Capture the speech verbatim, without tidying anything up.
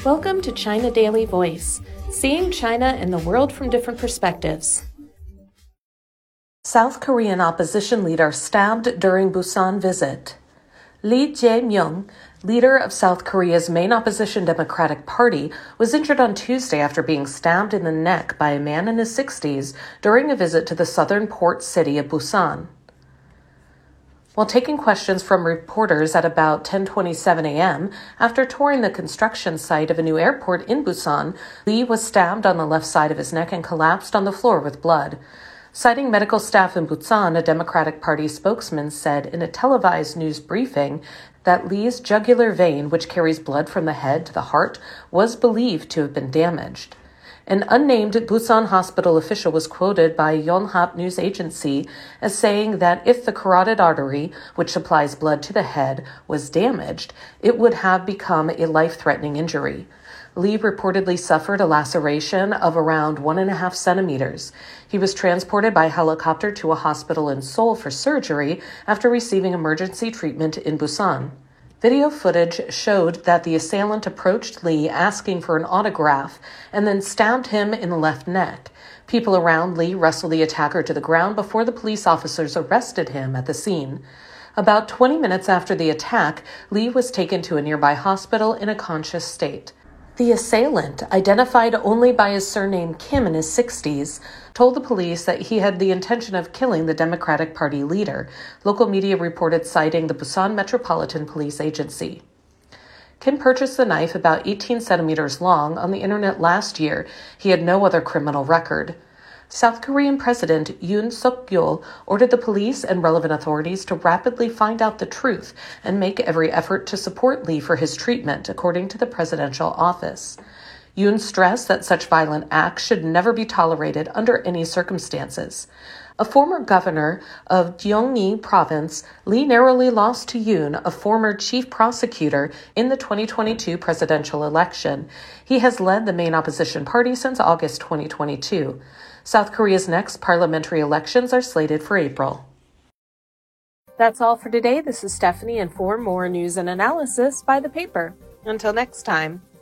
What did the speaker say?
Welcome to China Daily Voice, seeing China and the world from different perspectives. South Korean opposition leader stabbed during Busan visit. Lee Jae-myung, leader of South Korea's main opposition Democratic Party, was injured on Tuesday after being stabbed in the neck by a man in his sixties during a visit to the southern port city of Busan. While taking questions from reporters at about ten twenty-seven a.m. after touring the construction site of a new airport in Busan, Lee was stabbed on the left side of his neck and collapsed on the floor with blood. Citing medical staff in Busan, a Democratic Party spokesman said in a televised news briefing that Lee's jugular vein, which carries blood from the head to the heart, was believed to have been damaged. An unnamed Busan hospital official was quoted by Yonhap news agency as saying that if the carotid artery, which supplies blood to the head, was damaged, it would have become a life-threatening injury. Lee reportedly suffered a laceration of around one and a half centimeters. He was transported by helicopter to a hospital in Seoul for surgery after receiving emergency treatment in Busan. Video footage showed that the assailant approached Lee asking for an autograph and then stabbed him in the left neck. People around Lee wrestled the attacker to the ground before the police officers arrested him at the scene. About twenty minutes after the attack, Lee was taken to a nearby hospital in a conscious state. The assailant, identified only by his surname Kim in his sixties, told the police that he had the intention of killing the Democratic Party leader, local media reported citing the Busan Metropolitan Police Agency. Kim purchased the knife about eighteen centimeters long on the internet last year. He had no other criminal record. South Korean President Yoon Suk-yeol ordered the police and relevant authorities to rapidly find out the truth and make every effort to support Lee for his treatment, according to the presidential office. Yoon stressed that such violent acts should never be tolerated under any circumstances. A former governor of Gyeonggi Province, Lee narrowly lost to Yoon, a former chief prosecutor, in the twenty twenty-two presidential election. He has led the main opposition party since August twenty twenty-two. South Korea's next parliamentary elections are slated for April. That's all for today. This is Stephanie, and for more news and analysis, buy the paper. Until next time.